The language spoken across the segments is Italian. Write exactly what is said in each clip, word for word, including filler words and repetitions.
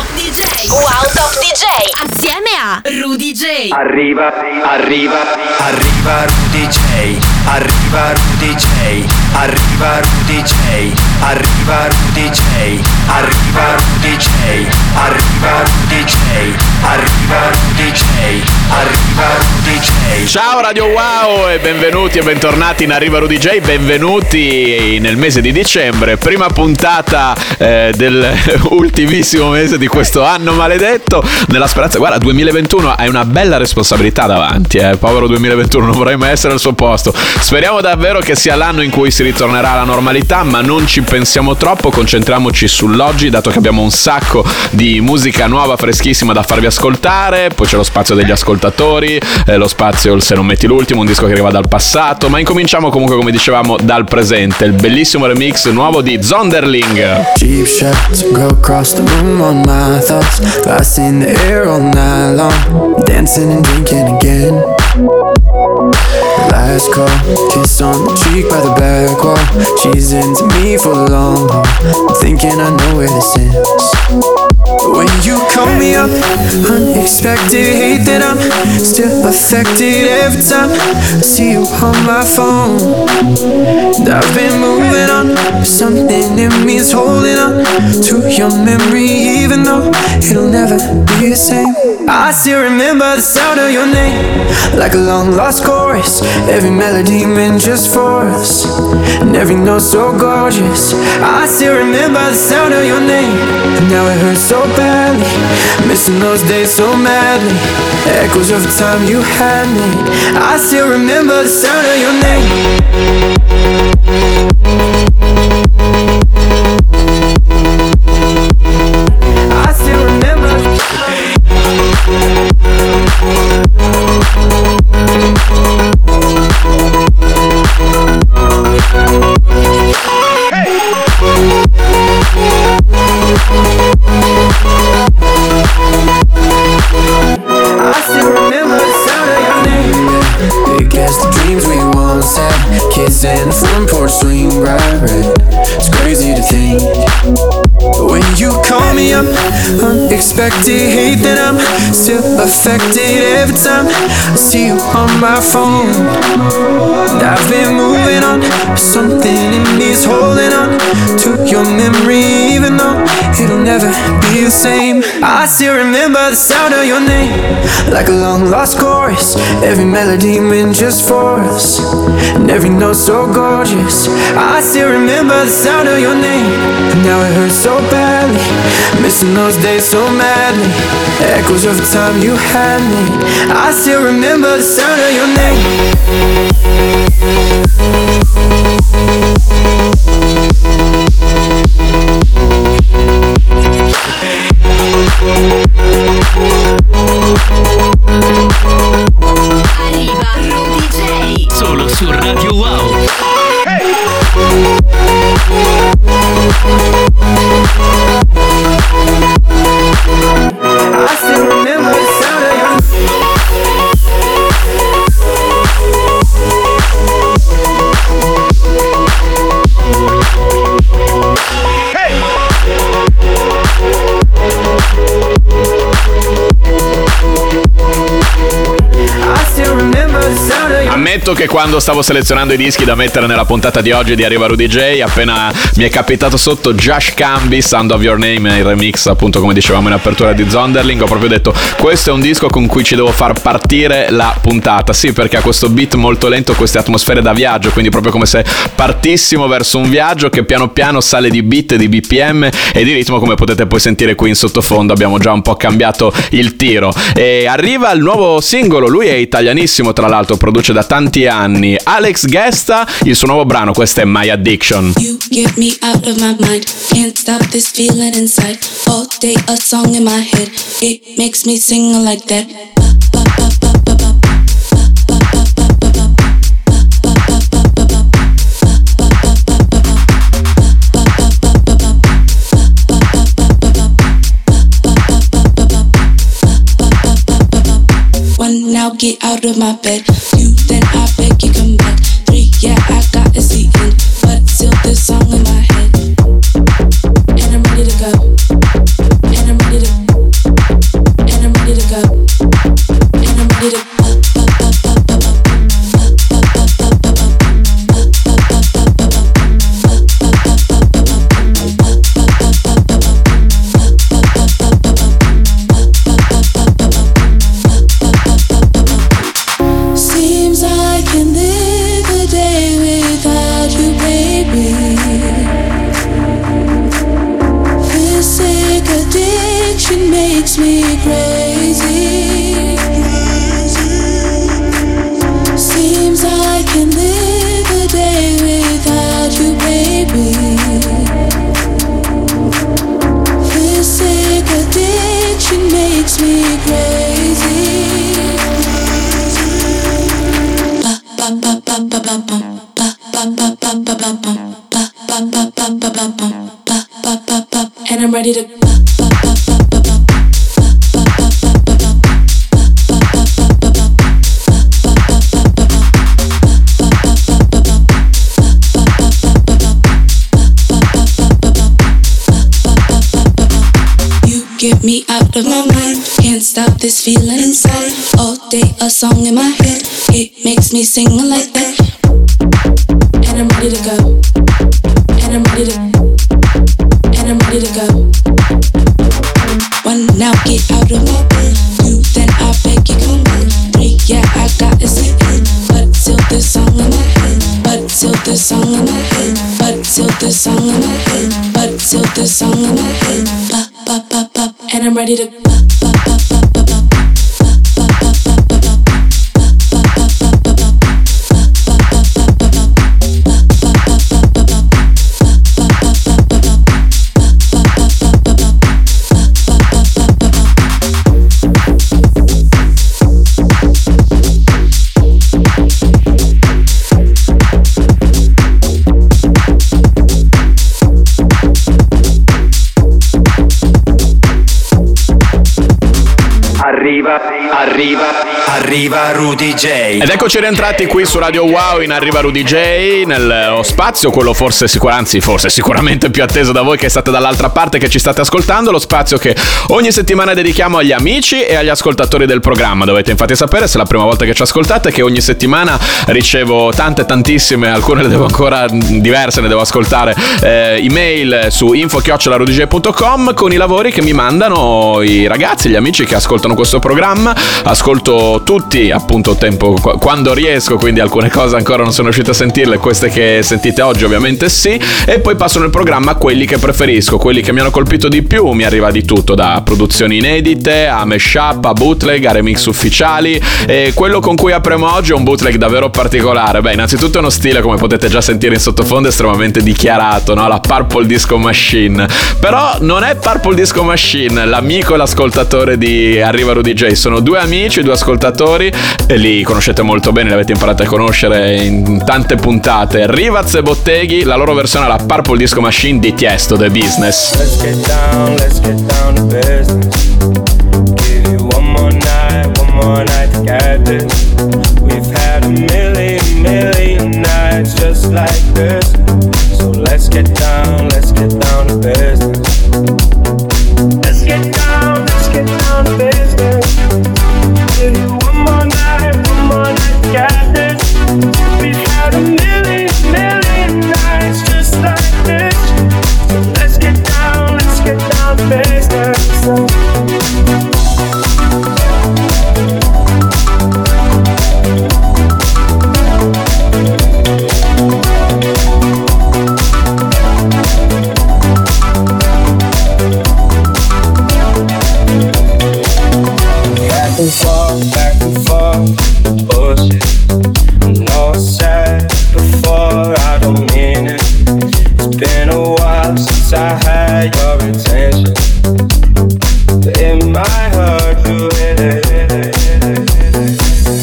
Top D J. Wow Top D J. Assieme a Rudy J. Arriva, arriva, arriva Rudy J. Arriva Rudy J. Arriva Rudy J. Arriva Rudy J. Arriva Rudy J. Arriva Rudy J. Arriva Rudy J. Arriva Rudy J. Ciao Radio Wow e benvenuti e bentornati in Arriva Rudy J. Benvenuti nel mese di dicembre, prima puntata eh, del ultimissimo mese di questo anno maledetto. Nella speranza, guarda, duemilaventuno hai una bella responsabilità davanti, eh. Povero duemilaventuno, non vorrei mai essere al suo posto. Speriamo davvero che sia l'anno in cui si ritornerà alla normalità, ma non ci pensiamo troppo, concentriamoci sull'oggi, dato che abbiamo un sacco di musica nuova, freschissima da farvi ascoltare. Poi c'è lo spazio degli ascoltatori, eh, lo spazio il Se non metti l'ultimo, un disco che arriva dal passato, ma incominciamo comunque, come dicevamo, dal presente, il bellissimo remix nuovo di Zonderling. Cheap shots go across the room on my thoughts, glass in the air all night long, dancing and drinking again. Last call, kiss on the cheek by the back wall. She's into me for the long haul, I'm thinking I know where this ends. When you call me up, unexpected, hate that I'm still affected every time I see you on my phone. And I've been moving on, something in me is holding on to your memory, even though it'll never be the same. I still remember the sound of your name, like a long lost chorus, every melody meant just for us, and every note so gorgeous. I still remember the sound of your name, and now it hurts so badly, missing those days so madly, echoes of the time you had me. I still remember the sound of your name. I still remember. I still remember the sound of your name. Big as the dreams we once had, kids in the front porch swing bright red. It's crazy to think, when you call me up, unexpected, hate that I'm still affected every time I see you on my phone. And I've been moving on, but something in me is holding on to your memory, even though it'll never be the same. I still remember the sound of your name, like a long lost chorus, every melody meant just for us, and every note so gorgeous. I still remember the sound of your name, and now it hurts so badly, missing those days so madly, echoes of the time you had me. I still remember the sound of your name. Arriva Rudy J. Solo su Radio Wow. I still remember the sound of your Ammetto che quando stavo selezionando i dischi da mettere nella puntata di oggi di Arriva Rudy J, appena mi è capitato sotto Josh Cambi, Sound of Your Name, il remix appunto come dicevamo in apertura di Zonderling, ho proprio detto questo è un disco con cui ci devo far partire la puntata. Sì, perché ha questo beat molto lento, queste atmosfere da viaggio, quindi proprio come se partissimo verso un viaggio che piano piano sale di beat, di B P M e di ritmo, come potete poi sentire qui in sottofondo. Abbiamo già un po' cambiato il tiro e arriva il nuovo singolo. Lui è italianissimo, tra l'altro produce da tanti anni, Alex Gesta, il suo nuovo brano, questo è My Addiction. You get me out of my mind, can't stop this feeling inside, all day a song in my head, it makes me sing like that. One, now get out of my bed. Two, then I beg you come back. Three, yeah, I got a seat in, but still this song in my head. And I'm ready to go. And I'm ready to addiction makes me crazy. Seems I can live a day without you, baby. This sick addiction makes me crazy. Ba ba ba ba ba ba bum. Ba ba ba ba ba ba bum. Ba ba ba ba ba ba bum. Ba ba ba ba. And I'm ready to ba ba ba ba ba bum. Ba ba ba ba ba bum. Ba ba ba ba ba bum. Ba ba ba ba ba bum. Ba ba ba ba ba bum. Ba ba ba ba ba bum. Ba ba ba ba ba bum. Ba ba ba ba ba bum. You get me out of my mind. Can't stop this feeling inside. All day a song in my head. It makes me sing like that. And I'm ready to go. And I'm ready to. And I'm ready to go. One now, get out of my bed. Two, then I beg you come back. Three, yeah, I gotta say it. But till this song in my head. But till this song in my head. But till this song in my head. But till this song in my head. Ba ba ba ba. And I'm ready to ba ba ba ba ba ba. Ba ba ba ba ba ba. Ba ba ba ba ba ba. Ba ba ba ba ba ba. Ba ba ba ba ba ba. Ba ba ba ba ba ba. Ba ba ba ba ba ba. Ba ba ba ba ba. Arriva, arriva, arriva Rudy J. Ed eccoci rientrati qui su Radio Wow in Arriva Rudy J, nello spazio, quello forse sicur- anzi forse sicuramente più atteso da voi che state dall'altra parte, che ci state ascoltando, lo spazio che ogni settimana dedichiamo agli amici e agli ascoltatori del programma. Dovete infatti sapere, se è la prima volta che ci ascoltate, che ogni settimana ricevo tante tantissime, alcune le devo ancora, diverse ne devo ascoltare, eh, email su info chiocciola rudy j punto com con i lavori che mi mandano i ragazzi, gli amici che ascoltano questo programma. Ascolto tutti, appunto, tempo quando riesco, quindi alcune cose ancora non sono riuscito a sentirle, queste che sentite oggi ovviamente sì, e poi passo nel programma a quelli che preferisco, quelli che mi hanno colpito di più. Mi arriva di tutto, da produzioni inedite a mashup, a bootleg, a remix ufficiali, e quello con cui apriamo oggi è un bootleg davvero particolare. Beh, innanzitutto è uno stile, come potete già sentire in sottofondo, estremamente dichiarato, no? La Purple Disco Machine. Però non è Purple Disco Machine l'amico e l'ascoltatore di Arriva Rudy J, sono due amici, due ascoltatori, e li conoscete molto bene, li avete imparato a conoscere in tante puntate. Rivaz e Botteghi, la loro versione alla Purple Disco Machine di Tiesto, The Business. Let's get down, let's get down to business. Give you one more night, one more night to get this. We've had a million, million nights just like this. So let's get down, let's get down to business. Let's get down, let's get down to business. Give you one more night, one more night to get this. We've had a million, million nights just like this. So let's get down, let's get down to business. Back and forth, back and forth, bullshit. I know I said before, I don't mean it. It's been a while since I had your attention, but it might hurt to hit it, hit it, hit it, hit it.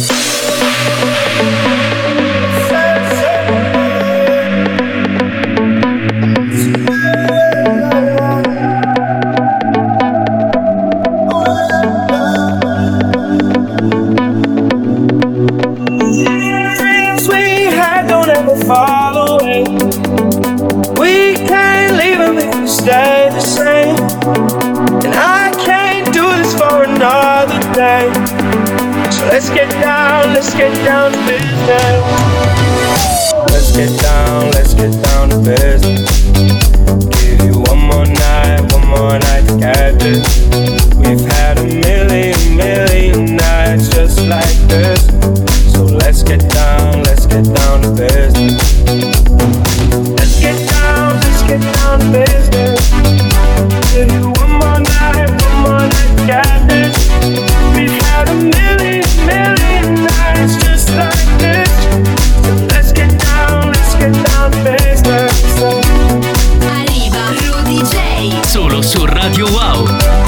Dreams we had don't ever fall away. We can't leave them if we stay the same. And I can't do this for another day. So let's get down, let's get down to business. Let's get down, let's get down to business. Give you one more night, one more night to get this. We've had a million, million nights just like this. So let's get down, let's get down to business. Let's get down, let's get down to business. Give you one more night, one more Wow.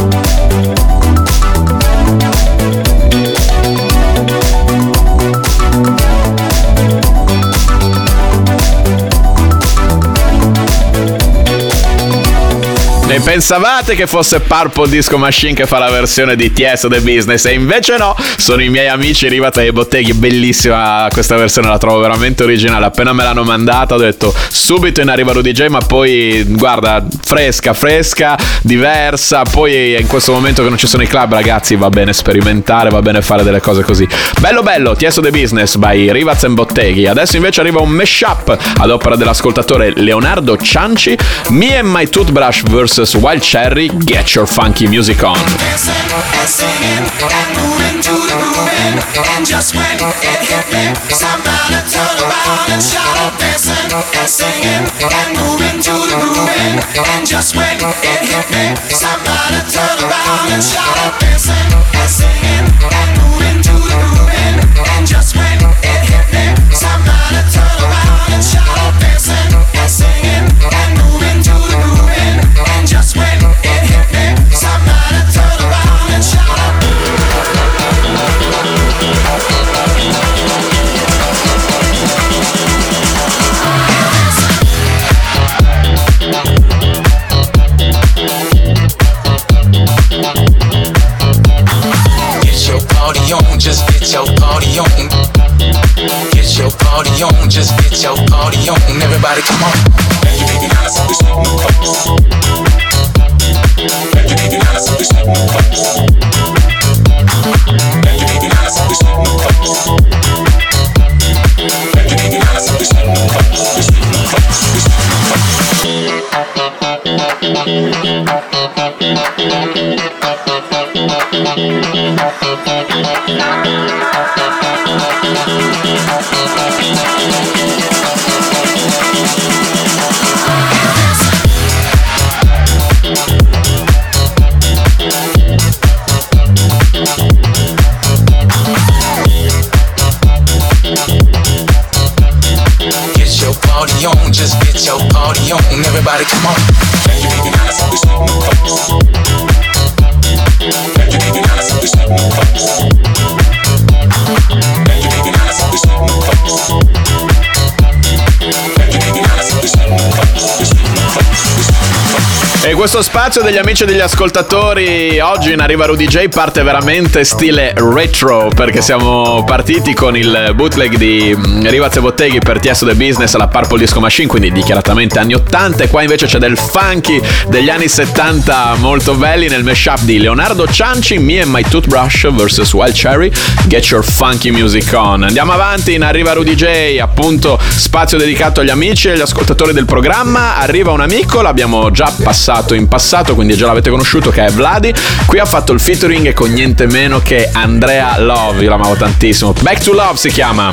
E pensavate che fosse Purple Disco Machine che fa la versione di Tiesto The Business, e invece no, sono i miei amici Rivaz e Botteghi. Bellissima questa versione, la trovo veramente originale. Appena me l'hanno mandata ho detto subito in Arriva Rudy J, ma poi guarda, fresca, fresca, diversa. Poi in questo momento che non ci sono i club, ragazzi, va bene sperimentare, va bene fare delle cose così. Bello bello, Tiesto The Business by Rivaz e Botteghi. Adesso invece arriva un mashup ad opera dell'ascoltatore Leonardo Cianci, Me and My Toothbrush versus Wild Cherry, Get Your Funky Music On. Dancing and singing and moving to the grooving, and just when it hit me, somebody turn around and shout out. Dancing and singing and moving to the grooving, and just when it hit me, somebody turn around and shout out. Dancing and singing and moving to the grooving, and just when it hit me, somebody turn around and shout out. Dancing and singing and moving to the grooving, and just when it hit me, somebody turn around and shout out. Get your party on, just get your party on. Get your party on, just get your party on. Everybody come on. And you baby now something sweet and close. And you baby now something sweet and close. And you baby now something sweet and close. And you baby now something sweet and close. Sweet and close. Sweet and close. Get your party on, just get your party on. Everybody come on. And you baby now something sweet and close. And you baby now something sweet and close. And you baby now something sweet and close. And you baby now something sweet and close. Sweet and close. E questo spazio degli amici e degli ascoltatori oggi in Arriva Rudy J parte veramente stile retro, perché siamo partiti con il bootleg di Rivaz e Botteghi per Tiesto The Business alla Purple Disco Machine, quindi dichiaratamente anni ottanta, e qua invece c'è del funky degli anni settanta molto belli nel mashup di Leonardo Cianci, Me and My Toothbrush versus Wild Cherry, Get Your Funky Music On. Andiamo avanti in Arriva Rudy J, appunto spazio dedicato agli amici e agli ascoltatori del programma. Arriva un amico, l'abbiamo già passato in passato, quindi già l'avete conosciuto, che è Vladi. Qui ha fatto il featuring con niente meno che Andrea Love, io l'amavo tantissimo. Back to Love si chiama.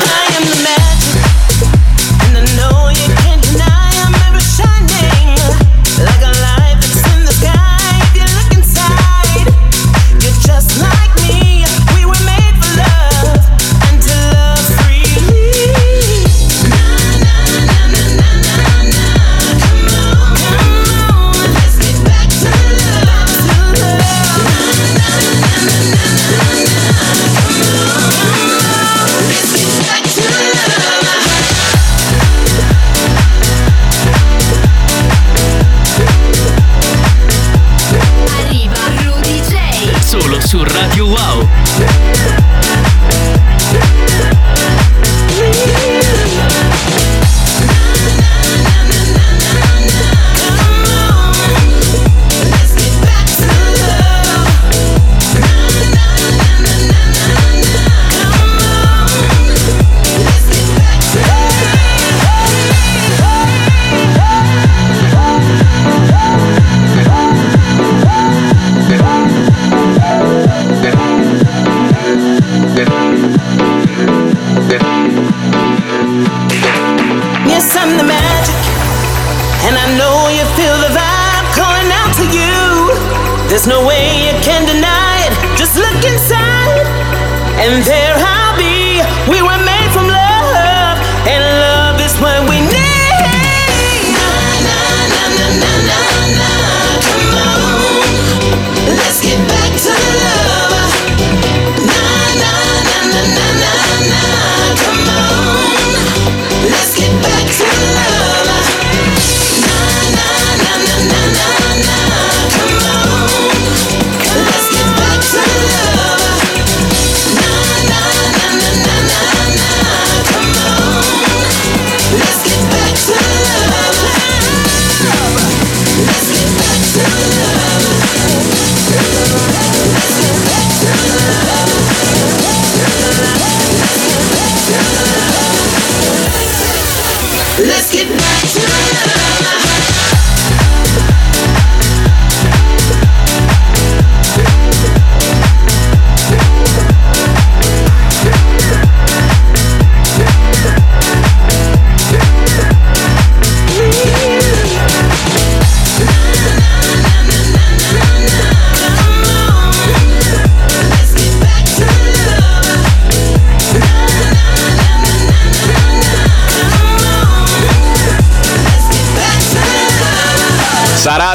Su Radio Wow. There's no way you can deny it. Just look inside, and there I'll be. We were made from love, and love is what we need. Na, na, na, na, na, na, na. Come on.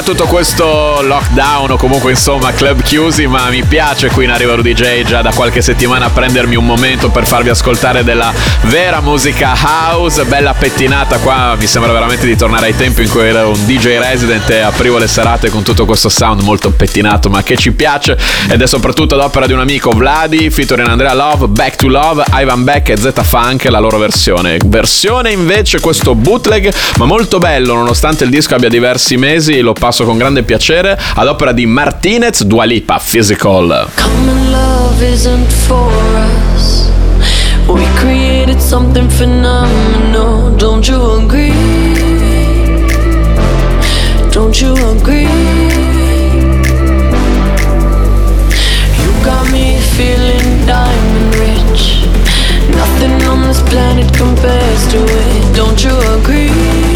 tutto questo lockdown o comunque insomma club chiusi, ma mi piace qui in Arriva Rudy J già da qualche settimana prendermi un momento per farvi ascoltare della vera musica house, bella pettinata qua. Mi sembra veramente di tornare ai tempi in cui ero un D J resident e aprivo le serate con tutto questo sound molto pettinato ma che ci piace, ed è soprattutto ad opera di un amico, Vladi featuring Andrea Love, Back to Love, Ivan Beck e Z Funk, la loro versione versione invece questo bootleg ma molto bello nonostante il disco abbia diversi mesi, lo passo con grande piacere, ad opera di Martinez, Dua Lipa, Physical. Common love isn't for us. We created something phenomenal. Don't you agree? Don't you agree? You got me feeling diamond rich. Nothing on this planet compares to it. Don't you agree?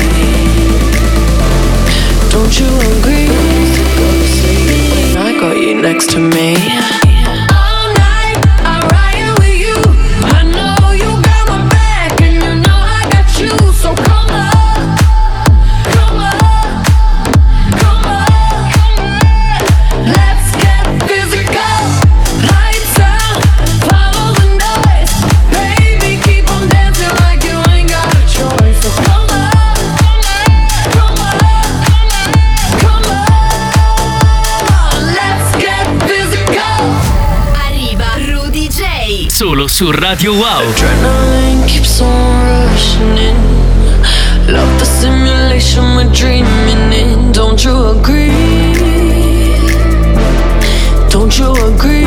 Don't you agree? Go to sleep when I got you next to me. All night I'm riding with you. I know you got my back and you know I got you. So come on, come on, come on. Let's get physical. Lights out, follow the noise. Baby, keep on dancing like you ain't got a choice. So come on, come on, come on. Let's get physical. Arriva Rudy J. Solo su Radio Wow. Adrenaline keeps on rushing in. Love the simulation we're dreaming in. Don't you agree? Don't you agree?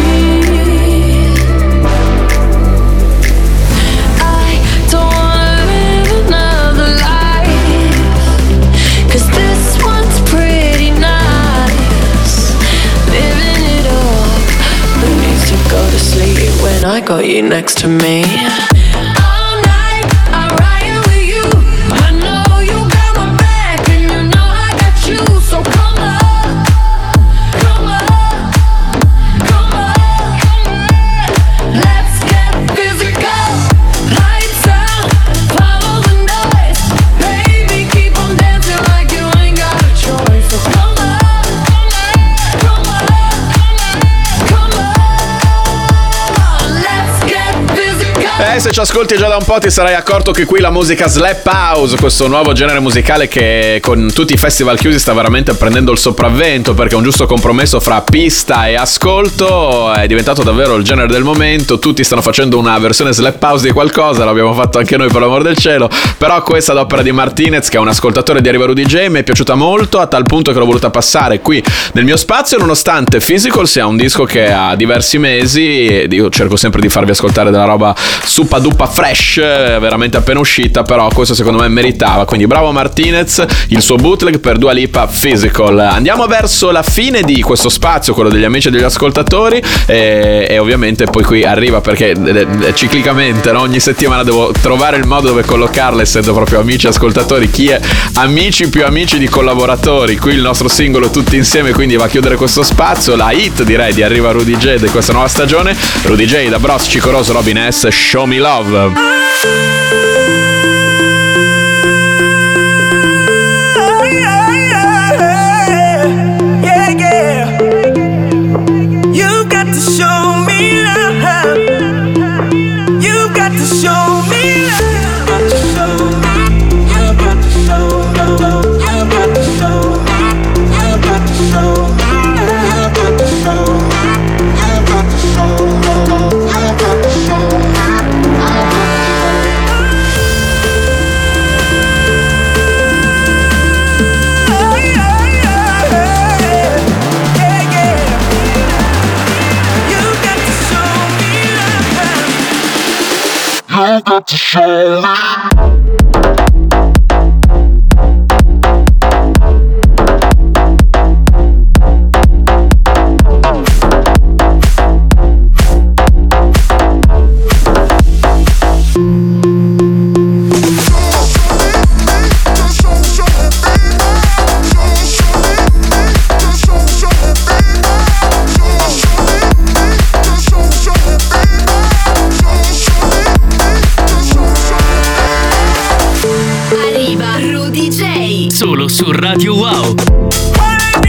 I don't wanna live another life, 'cause this one's pretty nice. Living it up, but needs to go to sleep when I got you next to me. All night I'm riding with you. I know you got my back and you know I got you. So come on, come on, come on. Let's get physical. Lights out, follow the noise. Baby, keep on dancing like you ain't got a choice. So come on, come on, come on. Let's get physical. Eh, se ci ascolti già da un po' ti sarai accorto che qui la musica slap house, questo nuovo genere musicale che con tutti i festival chiusi sta veramente prendendo il sopravvento, perché un giusto compromesso fra pista e ascolto è diventato davvero il genere del momento. Tutti stanno facendo una versione slap house di qualcosa, l'abbiamo fatto anche noi per l'amor del cielo, però questa ad opera di Martinez, che è un ascoltatore di Arriva Rudy J, mi è piaciuta molto a tal punto che l'ho voluta passare qui nel mio spazio, nonostante Physical sia un disco che ha diversi mesi e io cerco sempre di farvi ascoltare della roba suppa duppa fresh, veramente appena uscita, però questo secondo me meritava, quindi bravo Martinez, il suo bootleg per Dua Lipa, Physical. Andiamo verso la fine di questo spazio, quello degli amici e degli ascoltatori, e, e ovviamente poi qui arriva, perché eh, eh, ciclicamente, no? Ogni settimana devo trovare il modo dove collocarle, essendo proprio amici e ascoltatori, chi è amici più amici di collaboratori. Qui il nostro singolo tutti insieme quindi va a chiudere questo spazio, la hit direi di Arriva Rudy J di questa nuova stagione. Rudy J, Da Bros, Cico Rosso, Robin S, Show Me Love. You got to show me. Solo su Radio Wow.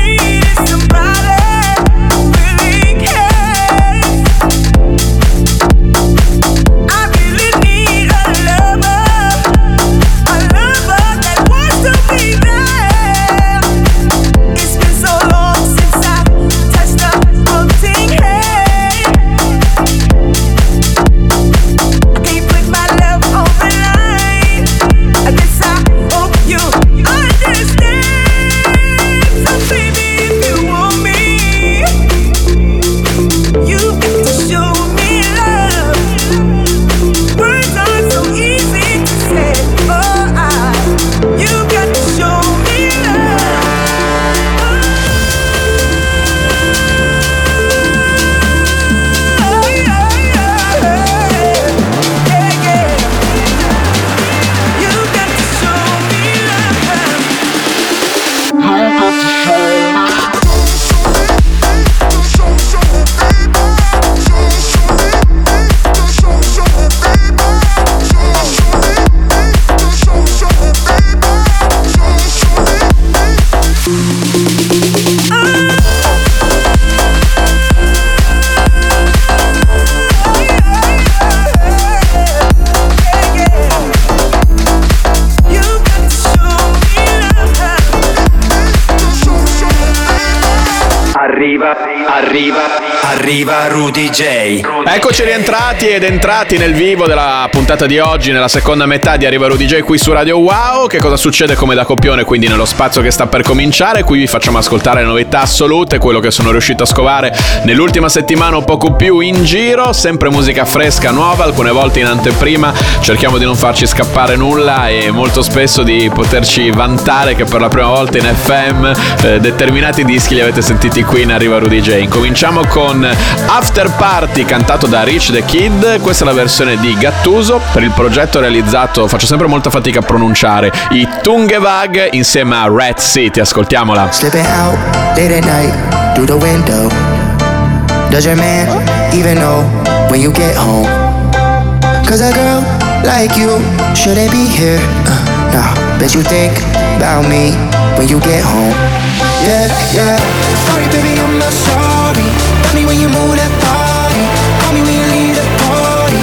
Arriva, arriva, arriva Rudy J. Eccoci rientrati ed entrati nel vivo della puntata di oggi, nella seconda metà di Arriva Rudy J qui su Radio Wow. Che cosa succede come da copione quindi nello spazio che sta per cominciare? Qui vi facciamo ascoltare le novità assolute, quello che sono riuscito a scovare nell'ultima settimana, un poco più in giro, sempre musica fresca, nuova, alcune volte in anteprima. Cerchiamo di non farci scappare nulla e molto spesso di poterci vantare che per la prima volta in F M eh, determinati dischi li avete sentiti qui in Arriva Rudy J. Incominciamo con After Party cantato da Rich the Kid. Questa è la versione di Gattuso per il progetto realizzato, faccio sempre molta fatica a pronunciare, i Tungevag insieme a Red City. Ascoltiamola. Slipping out late at night through the window. Does your man even know when you get home? Cause a girl like you shouldn't be here. Uh, nah, bet you think about me when you get home. Yeah, yeah. Sorry, baby, I'm not sorry. Tell me when you move that body. Call me when you leave the party.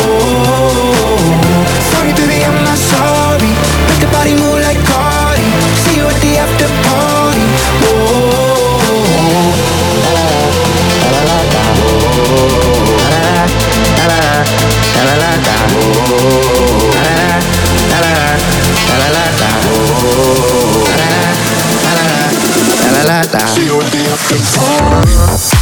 Whoa. Sorry, baby, I'm not sorry. Make the body move like Cardi. See you at the after party. Whoa. La la la la. La la la la la la. La la la la la la. See you at the after party.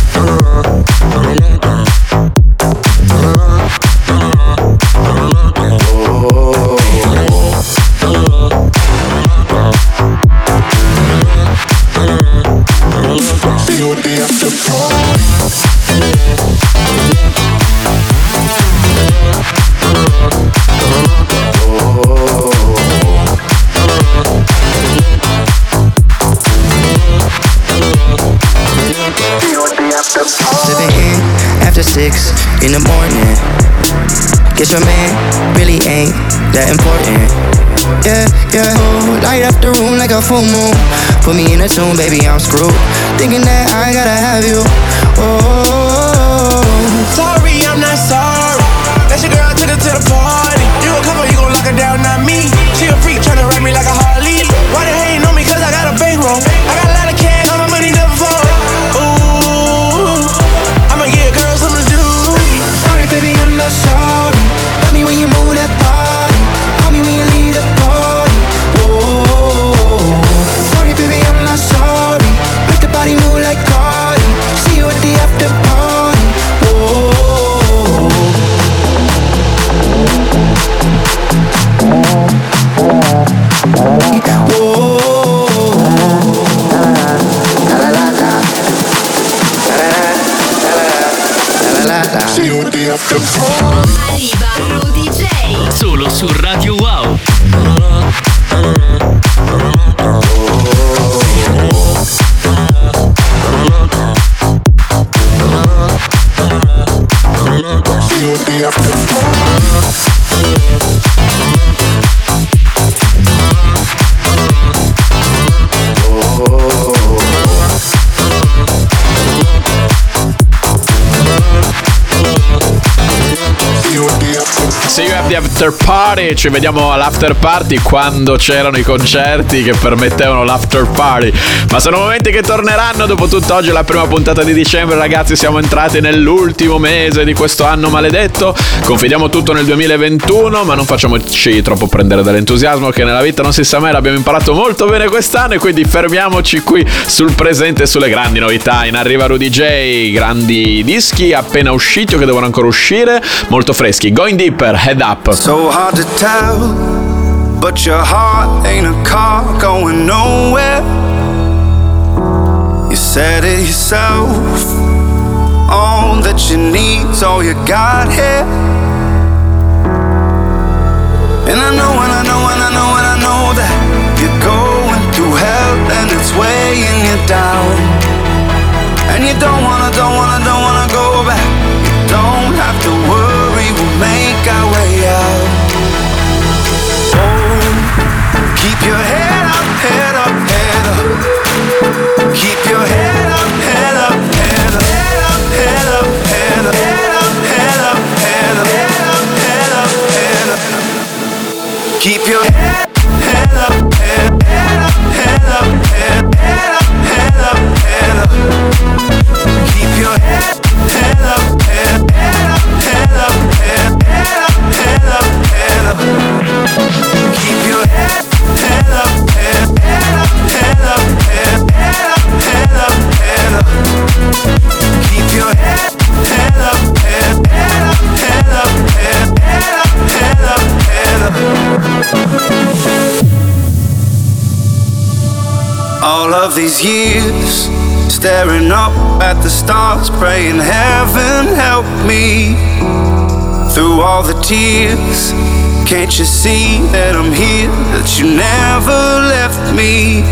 Six in the morning. Guess your man really ain't that important. Yeah, yeah. Oh, light up the room like a full moon. Put me in a tune, baby, I'm screwed. Thinking that I gotta have you. Oh, sorry, I'm not sorry. That's your girl, took her to the party. You gon' come or you gon' lock her down, not me. She a freak, tryna ride me like a Harley. Why they hating on me? Cause I got a bankroll. I got a lot of cash, all my money never fall. Baby, I'm not sorry. Tell me when you move that body. Call me when you leave the party. Whoa. Sorry, baby, I'm not sorry. Make the body move like Cardi. See you at the after party. Whoa. Arriva Rudy J. Solo su Radio Wow. See you at the after party. Ci vediamo all'after party quando c'erano i concerti che permettevano l'after party. Ma sono momenti che torneranno. Dopo tutto, oggi è la prima puntata di dicembre, ragazzi. Siamo entrati nell'ultimo mese di questo anno maledetto. Confidiamo tutto nel duemilaventuno, ma non facciamoci troppo prendere dall'entusiasmo, che nella vita non si sa mai. L'abbiamo imparato molto bene quest'anno e quindi fermiamoci qui sul presente e sulle grandi novità. In Arriva Rudy J, grandi dischi appena usciti o che devono ancora uscire, molto freschi. Going Deeper, Head Up. So hard to tell, but your heart ain't a car going nowhere. You said it yourself, all that you need's all you got here. And I know, and I know, and I know, and I know that you're going through hell and it's weighing you down. And you don't wanna, don't wanna, don't wanna go back. You don't have to worry, we'll make our way out. Oh, keep your head up, head up, head up. Keep your head up, head up, head up, head up, head up, head up, head up, head up, head up, head up, head up. Keep your head, head up, head, head up, head up, head, head up, head up, head up. of these years, staring up at the stars, praying heaven help me. Through all the tears, can't you see that I'm here, that you never left me?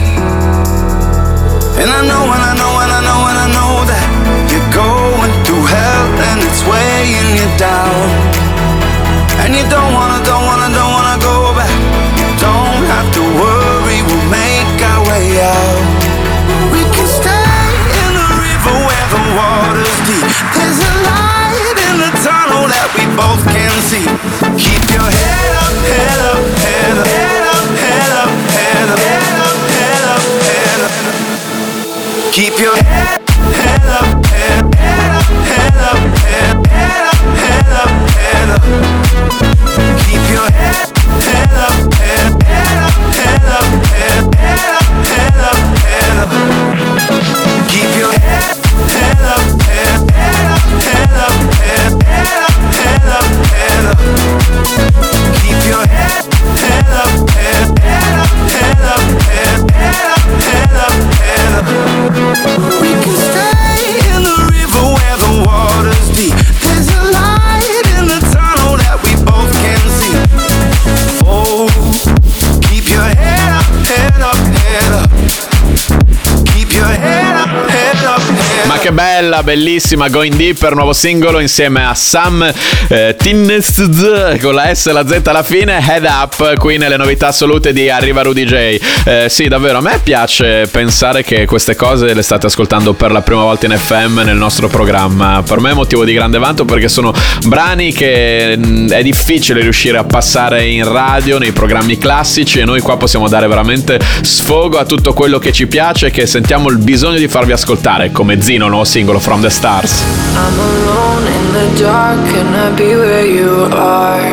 And I know, and I know, and I know, and I know that you're going through hell and it's weighing you down. And you don't wanna, don't wanna, don't wanna go back. You don't have to worry, we'll make our way out. We can stay in the river where the water's deep. There's a light in the tunnel that we both can see. Keep your head up, head up, head up, head up, head up, head up, head up, head up, head up. Keep your head, head up, head, head up, head up, head, head up, head up, head up. Keep your head, head up, head, head up, head up, head, head up, head up, head up. Keep your head, head up, head, head up, head up, head, head up, head up, head up. Keep your head, head up, head, head up, head up, head, head up, head up, head up. We can stay in the river where the water's deep. There's a light in the tunnel that we both can see. Oh, keep your head up, head up, head up. Keep your head up, head up, head up. Ma che bella, bellissima Going Deeper, nuovo singolo insieme a Sam eh, Tinnesd con la S e la Z alla fine. Head Up qui nelle novità assolute di Arriva Rudy J. Eh, sì, davvero, a me piace pensare che queste cose le state ascoltando per la prima volta in F M nel nostro programma. Per me è motivo di grande vanto, perché sono brani che mh, è difficile riuscire a passare in radio, nei programmi classici, e noi qua possiamo dare veramente sfogo a tutto quello che ci piace e che sentiamo il bisogno di farvi ascoltare, come Zino, nuovo singolo From the Stars. I'm alone in the dark, can I be where you are?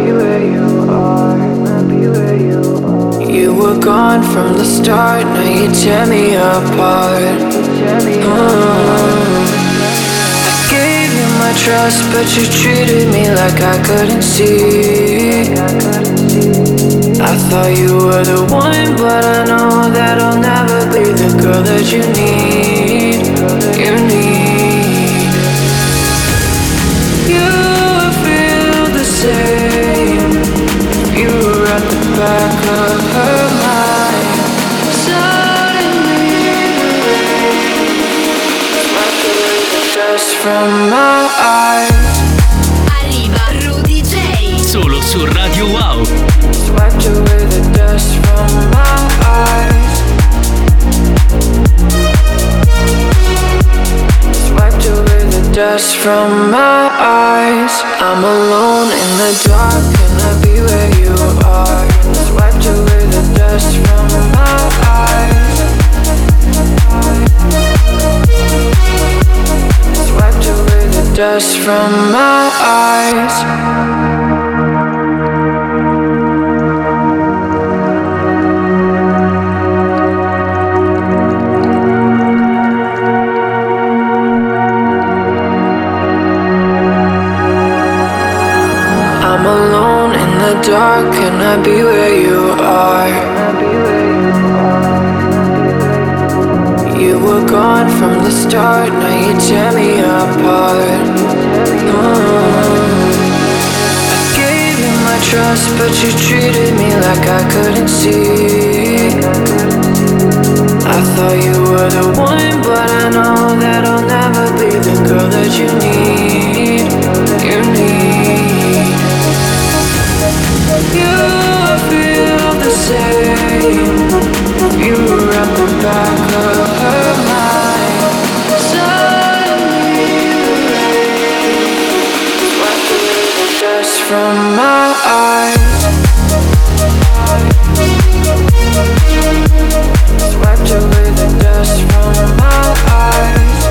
You were gone from the start, now you tear me apart. Oh. I gave you my trust, but you treated me like I couldn't see. I thought you were the one, but I know that I'll never be the girl that you need. You need. You feel the same. You were at the back of her mind. Suddenly the rain swept away the dust from my eyes. Arriva Rudy J. Solo su Radio Wow. Swept away the dust from my eyes. Swept away the dust from my eyes. I'm alone in the dark, can I be where you are? Swept away the dust from my eyes. Swept away the dust from my eyes. I'm alone in the dark, can I be where you are? You were gone from the start, now you tear me apart. Oh. I gave you my trust, but you treated me like I couldn't see. I thought you were the one, but I know that I'll never be the girl that you need. You need. You feel the same. You were at the back of her mind. Suddenly the rain swept away the dust from my eyes. Swept away the dust from my eyes.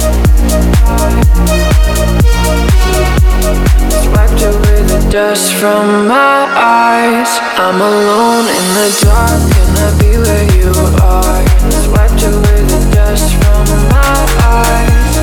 Swept away the dust from my eyes. I'm alone in the dark, can I be where you are? Swept away the dust from my eyes.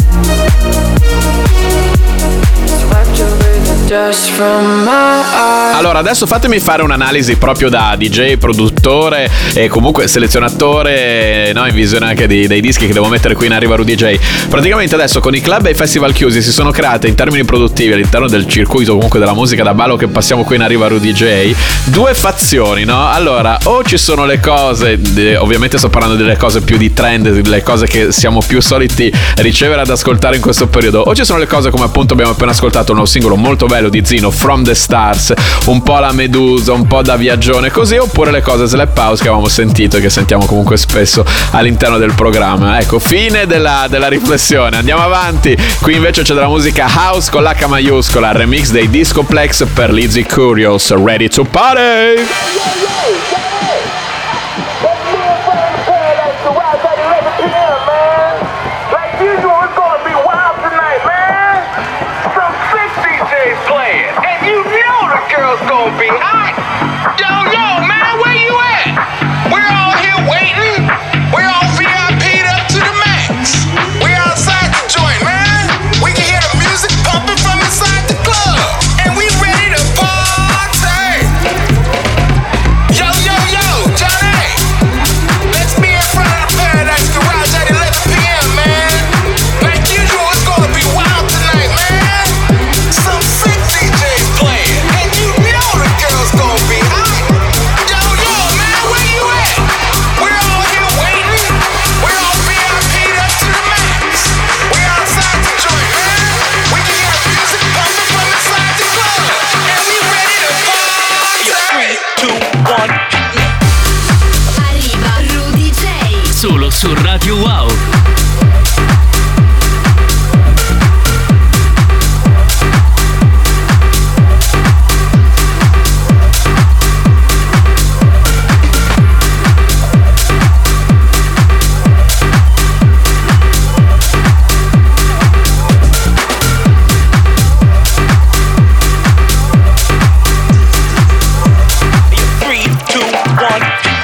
Swept away the dust from my eyes. Allora, adesso fatemi fare un'analisi proprio da D J, produttore e comunque selezionatore, no, in visione anche di, dei dischi che devo mettere qui in Arriva Rudy J. Praticamente adesso con i club e i festival chiusi si sono create in termini produttivi all'interno del circuito comunque della musica da ballo che passiamo qui in Arriva Rudy J due fazioni, no? Allora, o ci sono le cose, ovviamente sto parlando delle cose più di trend, delle cose che siamo più soliti ricevere ad ascoltare in questo periodo, o ci sono le cose come appunto abbiamo appena ascoltato un nuovo singolo molto bello di Zino, From the Stars, un po' la Medusa, un po' da viaggione così, oppure le cose Slap House che avevamo sentito e che sentiamo comunque spesso all'interno del programma. Ecco, fine della, della riflessione, andiamo avanti. Qui invece c'è della musica house con l'H maiuscola, remix dei Discoplex per Lizzy Curious, Ready to Party! Gonna be hot. Yo, yo, man, where you at? We're all here waiting. We're all V I P'd up to the max. We're outside the joint, man. We can hear the music pumping from inside the club. And we ready to party. Yo, yo, yo, Johnny. Let's be in front of the Paradise Garage at eleven p.m., man. Like usual, it's gonna be wild tonight, man. Some sick D Js playing. And you know the girls gonna be hot. Yo, yo, man, where you at? We're all here waiting. We're all V I P'd up to the max. We're outside the joint, man. We can hear the music pumping from inside the club. And we ready to party. three, two, one. Arriva Rudy J. Solo su Radio Wow. Three, two, one.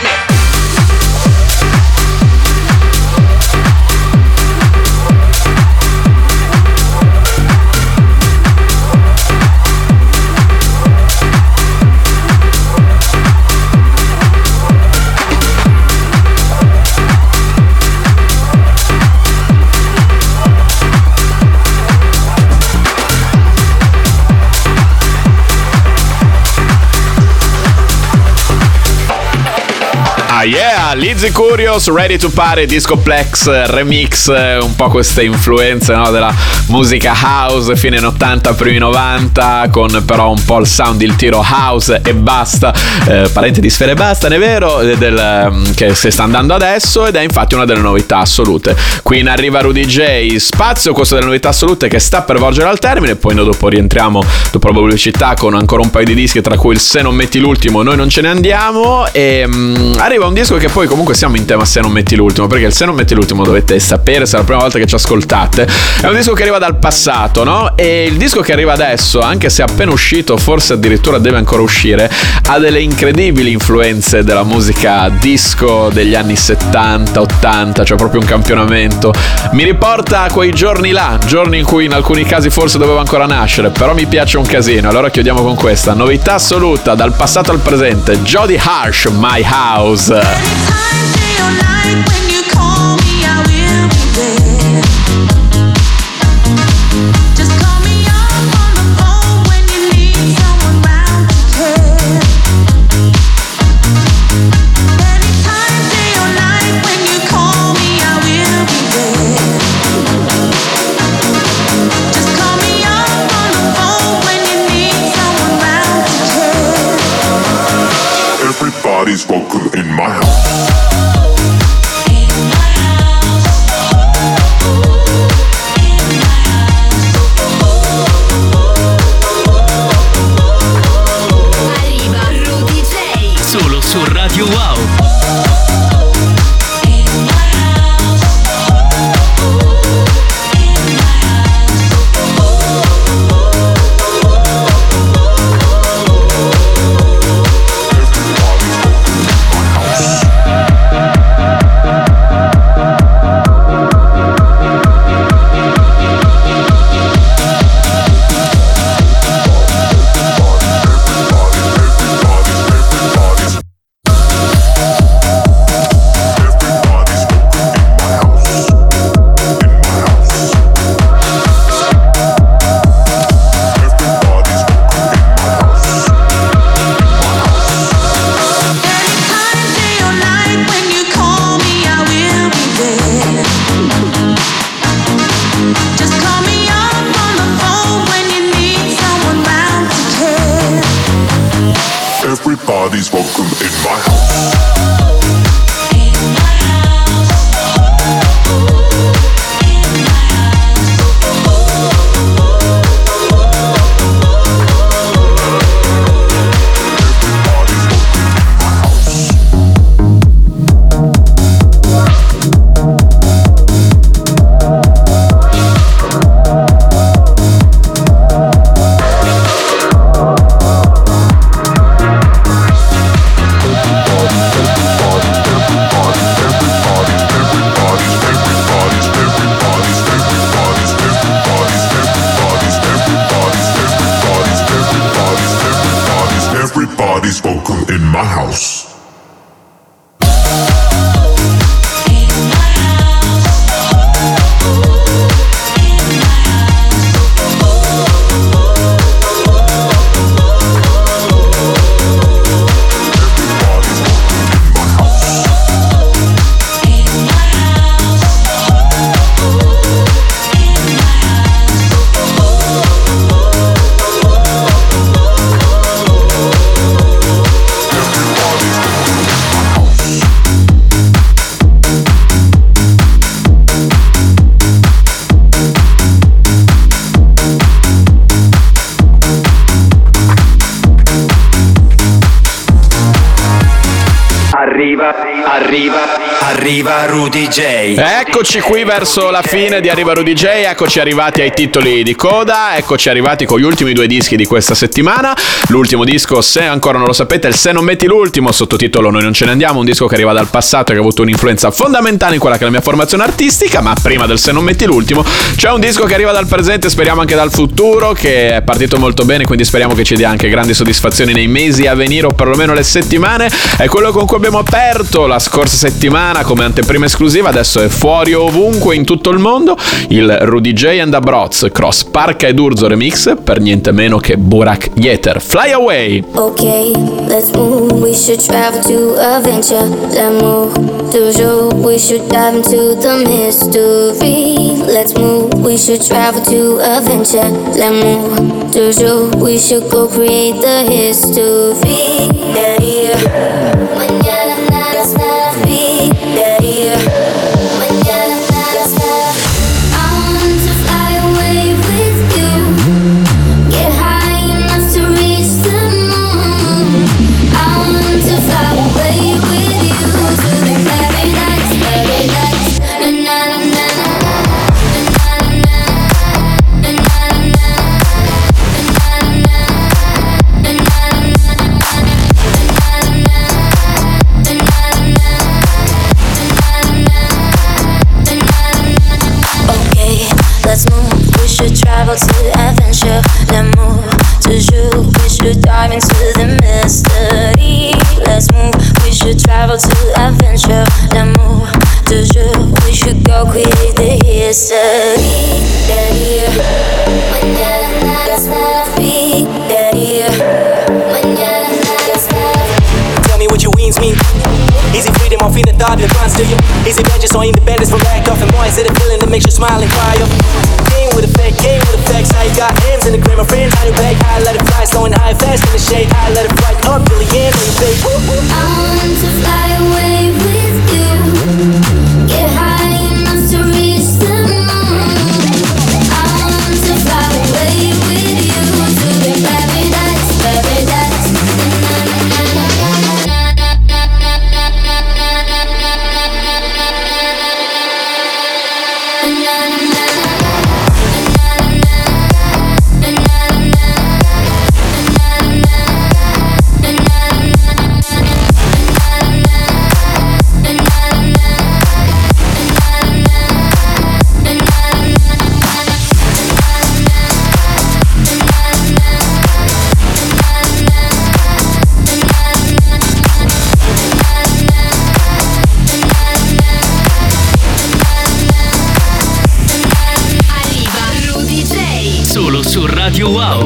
Ah yeah, Lizzy Curious, Ready to Party, Discoplex remix, un po' queste influenze, no, della musica house fine ottanta, primi novanta, con però un po' il sound, il tiro house e basta, eh, parente di Sfere Basta, è vero, del, che si sta andando adesso, ed è infatti una delle novità assolute. Qui in Arriva Rudy J, spazio questo delle novità assolute che sta per volgere al termine, poi noi dopo rientriamo dopo la pubblicità con ancora un paio di dischi, tra cui il Se non metti l'ultimo noi non ce ne andiamo, e um, arriva un disco che poi comunque siamo in tema Se non metti l'ultimo, perché il Se non metti l'ultimo dovete sapere, se è la prima volta che ci ascoltate, è un disco che arriva dal passato, no? E il disco che arriva adesso, anche se è appena uscito, forse addirittura deve ancora uscire, ha delle incredibili influenze della musica disco degli anni settanta ottanta, cioè proprio un campionamento. Mi riporta a quei giorni là, giorni in cui in alcuni casi forse doveva ancora nascere, però mi piace un casino. Allora chiudiamo con questa novità assoluta dal passato al presente, Jody Harsh, My House. Everybody's welcome in my house. Arriva Rudy J. Solo su Radio Wow. Everybody's welcome in my house. house. Arriva, arriva, arriva Rudy J. Eccoci qui verso la fine di Arriva Rudy J, eccoci arrivati ai titoli di coda, eccoci arrivati con gli ultimi due dischi di questa settimana. L'ultimo disco, se ancora non lo sapete, è il Se non metti l'ultimo, sottotitolo Noi non ce ne andiamo, un disco che arriva dal passato e che ha avuto un'influenza fondamentale in quella che è la mia formazione artistica. Ma prima del Se non metti l'ultimo c'è un disco che arriva dal presente, speriamo anche dal futuro, che è partito molto bene, quindi speriamo che ci dia anche grandi soddisfazioni nei mesi a venire, o perlomeno le settimane. È quello con cui abbiamo aperto la scorsa settimana come anteprima esclusiva, adesso è fuori ovunque in tutto il mondo, il Rudy J and the Broths Cross Parca ed Urzo remix, per niente meno che Burak Yeter. Fly Away. Okay, let's move. We should travel to adventure. Let's move. Toujours, we should dive into the mystery. Let's move. We should travel to adventure. Let's move. Toujours, we should go create the history. Yeah, yeah. Mañana nada está free. Yeah, yeah. Mañana nada está. I want to fly away with you. Get high enough to reach the moon. I want to fly away with you to the paradise, paradise. Na na na na na na na na na na. Let's move, we should travel to adventure. Let's move, toujours, we should dive into the mystery. Let's move, we should travel to adventure. Let's move, toujours, we should go create the history. Mañana nada está free. Mañana nada está. Tell me what your wings mean. Is it freedom or feeling thought that runs to you? Is it vengeance or independence from lack of? And more, is it a feeling that makes you smile and cry up? Game with effect, game with effects. How you got hands in the green, my friends, how you back? I let it fly, slowing high, fast in the shade. I let it fly up till the end of your face. I want to fly away with you. Get high enough to reach the moon. I want to fly away with you to the paradise, paradise. Solo su Radio Wow.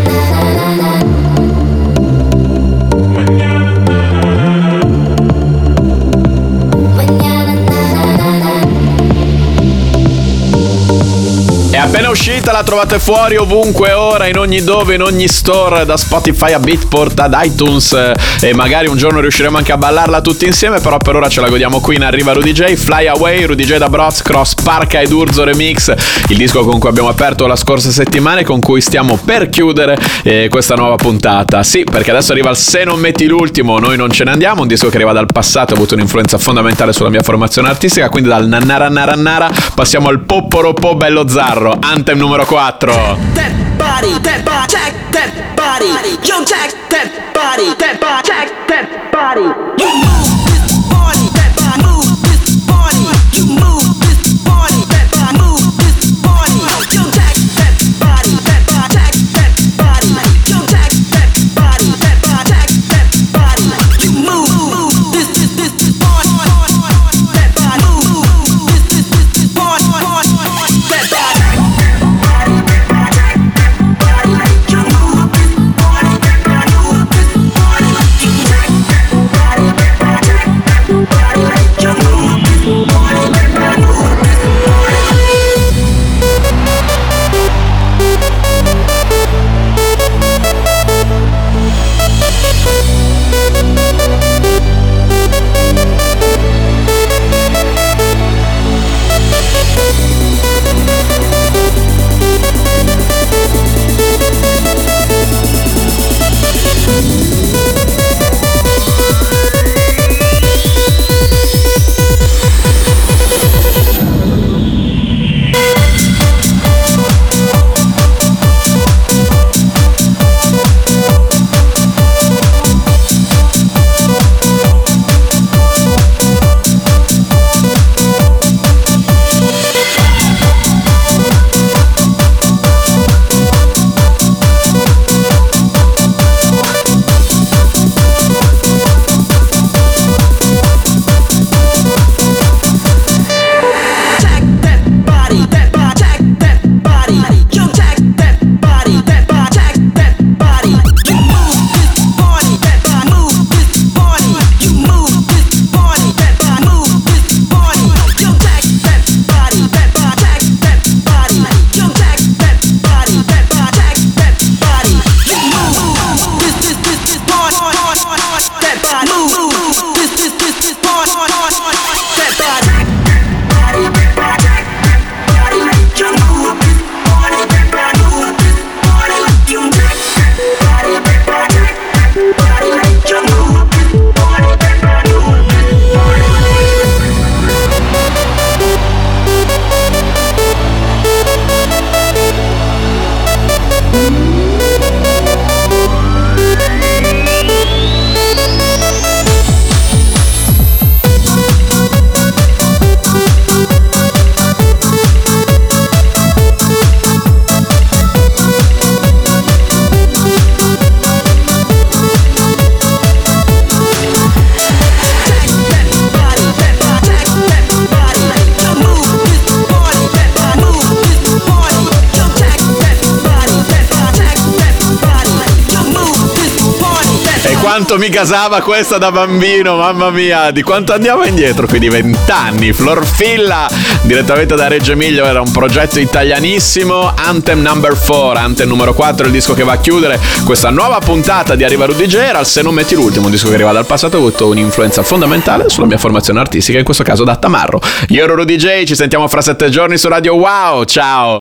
È appena uscita, la trovate fuori ovunque ora, in ogni dove, in ogni store, da Spotify a Beatport ad iTunes, e magari un giorno riusciremo anche a ballarla tutti insieme, però per ora ce la godiamo qui in Arriva Rudy J. Fly Away, Rudy J da Broths Cross Parca ed Urzo remix, il disco con cui abbiamo aperto la scorsa settimana e con cui stiamo per chiudere eh, questa nuova puntata. Sì, perché adesso arriva il Se non metti l'ultimo, Noi non ce ne andiamo, un disco che arriva dal passato, ha avuto un'influenza fondamentale sulla mia formazione artistica, quindi dal nannara nara nara passiamo al popporopò bello zarro. Anthem numero quattro. That body, that body, check that body. Yo, check that body, that body, check that body. You move this body, that body, move this body. You move this body, that body, move this body. Yo, check that body, that body, check that body. Yo, check that body, that body, check that body. You quanto mi casava questa da bambino, mamma mia, di quanto andiamo indietro, quindi vent'anni. Florfilla, direttamente da Reggio Emilia, era un progetto italianissimo. Anthem number four, Anthem numero quattro, il disco che va a chiudere questa nuova puntata di Arriva Rudy J. Era Se non metti l'ultimo, un disco che arriva dal passato, ha avuto un'influenza fondamentale sulla mia formazione artistica, in questo caso da Tamarro. Io ero Rudy J, ci sentiamo fra sette giorni su Radio Wow, ciao!